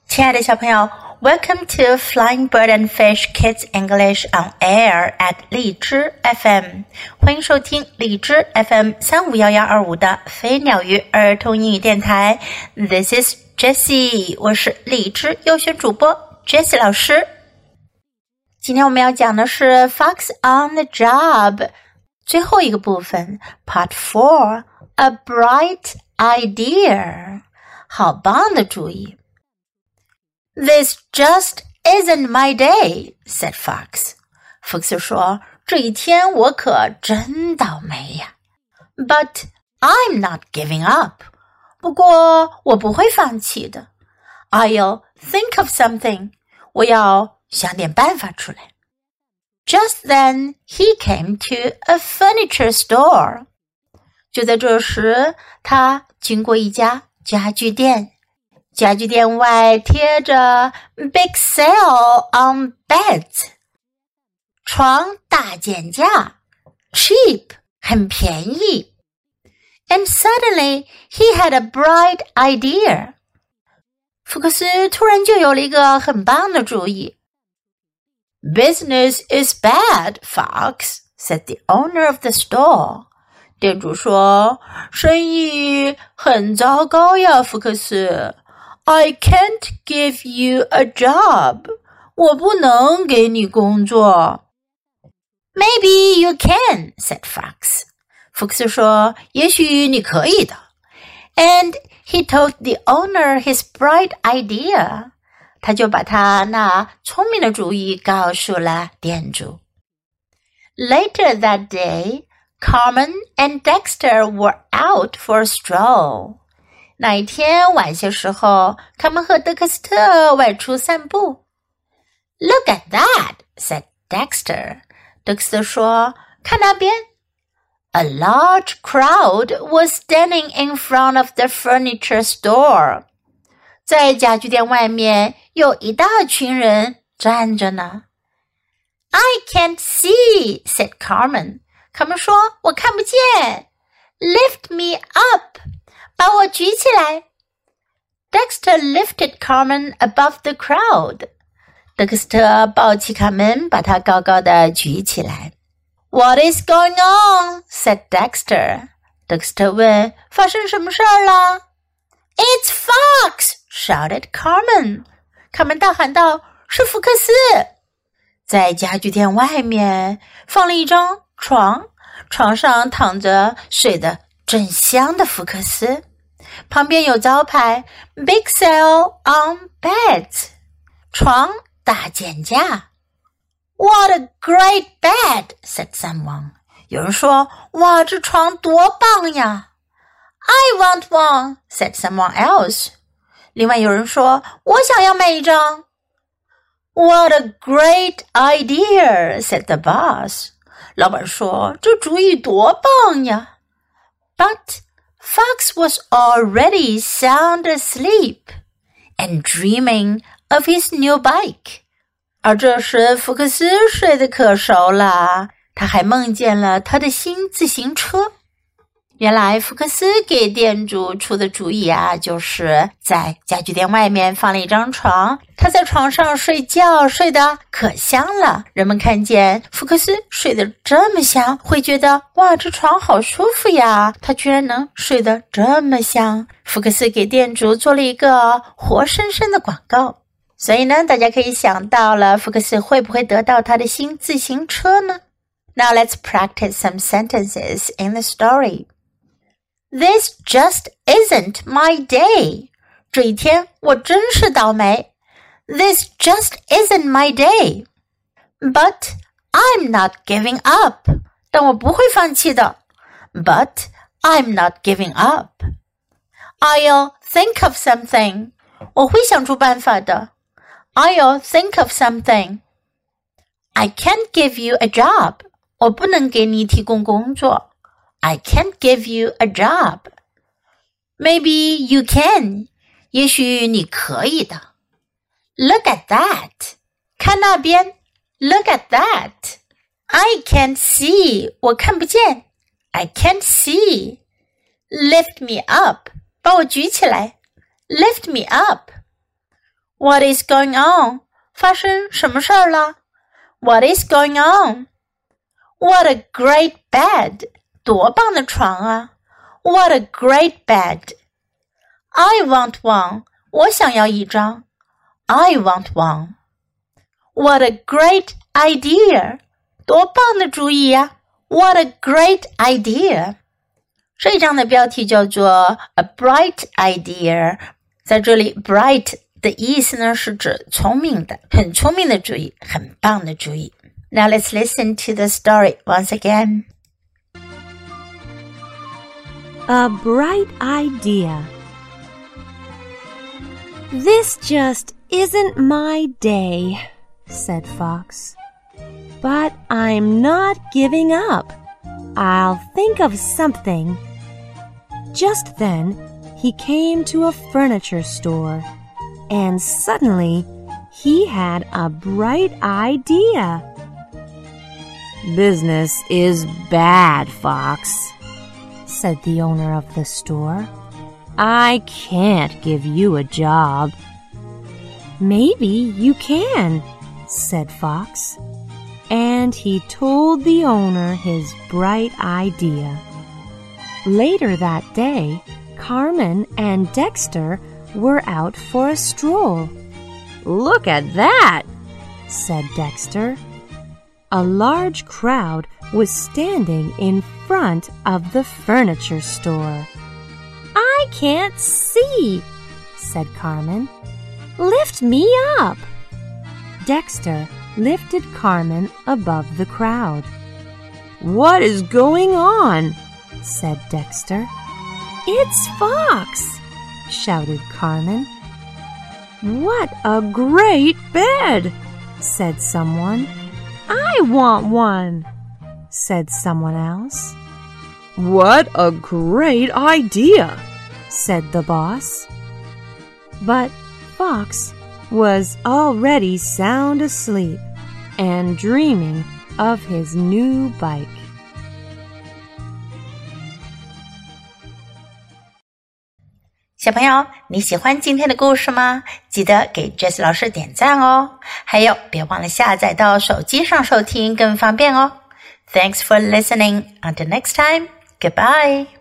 亲爱的小朋友 Welcome to Flying Bird and Fish Kids English on Air at 荔枝 FM 欢迎收听荔枝 FM 35112的飞鸟鱼儿童英语电台 This is Jessie 我是荔枝优选主播 Jessie 老师今天我们要讲的是 Fox on the Job 最后一个部分 Part 4 A Bright Idea 好棒的主意This just isn't my day, said Fox. Fox 说，这一天我可真倒霉呀。But I'm not giving up. 不过我不会放弃的。I'll think of something. 我要想点办法出来。Just then, he came to a furniture store. 就在这时，他经过一家家具店。家具店外贴着 Big Sale on Beds 床大减价 Cheap 很便宜 And suddenly he had a bright idea 福克斯突然就有了一个很棒的主意 Business is bad, Fox, said the owner of the store 店主说生意很糟糕呀福克斯I can't give you a job. 我不能给你工作。Maybe you can, said Fox. 福克斯说，也许你可以的。And he told the owner his bright idea. 他就把他那聪明的主意告诉了店主。Later that day, Carmen and Dexter were out for a stroll.那一天晚些时候，他们和德克斯特外出散步。Look at that, said Dexter. 德克斯特说，看那边。A large crowd was standing in front of the furniture store. 在家具店外面有一大群人站着呢。I can't see, said Carmen. 卡门说，我看不见。Lift me up.把我举起来 Dexter lifted Carmen above the crowd 德克斯特抱起卡门把她高高的举起来 What is going on? said Dexter 德克斯特问发生什么事儿了 It's Fox! shouted Carmen 卡门大喊道是福克斯在家具店外面放了一张床床上躺着睡得正香的福克斯旁边有招牌 Big Sale on Beds 床大减价 What a great bed, said someone 有人说哇这床多棒呀 I want one, said someone else 另外有人说我想要买一张 What a great idea, said the boss 老板说这主意多棒呀 But Fox was already sound asleep and dreaming of his new bike. 而这时福克斯睡得可熟了，他还梦见了他的新自行车。原来福克斯给店主出的主意啊，就是在家具店外面放了一张床，他在床上睡觉，睡得可香了。人们看见福克斯睡得这么香，会觉得哇，这床好舒服呀，他居然能睡得这么香。福克斯给店主做了一个活生生的广告。所以呢，大家可以想到了，福克斯会不会得到他的新自行车呢？ Now let's practice some sentences in the story.This just isn't my day. 这一天我真是倒霉。This just isn't my day. But I'm not giving up. 但我不会放弃的。But I'm not giving up. I'll think of something. 我会想出办法的。I'll think of something. I can't give you a job. 我不能给你提供工作。I can't give you a job. Maybe you can. 也许你可以的。Look at that. 看那边。Look at that. I can't see. 我看不见。I can't see. Lift me up. 把我举起来。Lift me up. What is going on? 发生什么事儿了？ What is going on? What a great bed! 多棒的床啊！ What a great bed! I want one. 我想要一张。I want one. What a great idea! 多棒的主意呀！ What a great idea! 这一章的标题叫做 A bright idea. 在这里 bright 的意思呢是指聪明的，很聪明的主意，很棒的主意。Now let's listen to the story once again. A bright idea. This just isn't my day, said Fox. But I'm not giving up. I'll think of something. Just then, he came to a furniture store, and suddenly, he had a bright idea. Business is bad, Fox, said the owner of the store. I can't give you a job. Maybe you can, said Fox. And he told the owner his bright idea. Later that day, Carmen and Dexter were out for a stroll. Look at that, said Dexter. A large crowd was standing in front of the furniture store. I can't see, said Carmen. Lift me up. Dexter lifted Carmen above the crowd. What is going on? Said Dexter. It's Fox, shouted Carmen. What a great bed, said someone. I want one, said someone else. What a great idea, said the boss. But Fox was already sound asleep and dreaming of his new bike. 小朋友，你喜欢今天的故事吗？记得给 Jess 老师点赞哦。还有，别忘了下载到手机上收听，更方便哦。Thanks for listening. Until next time, goodbye.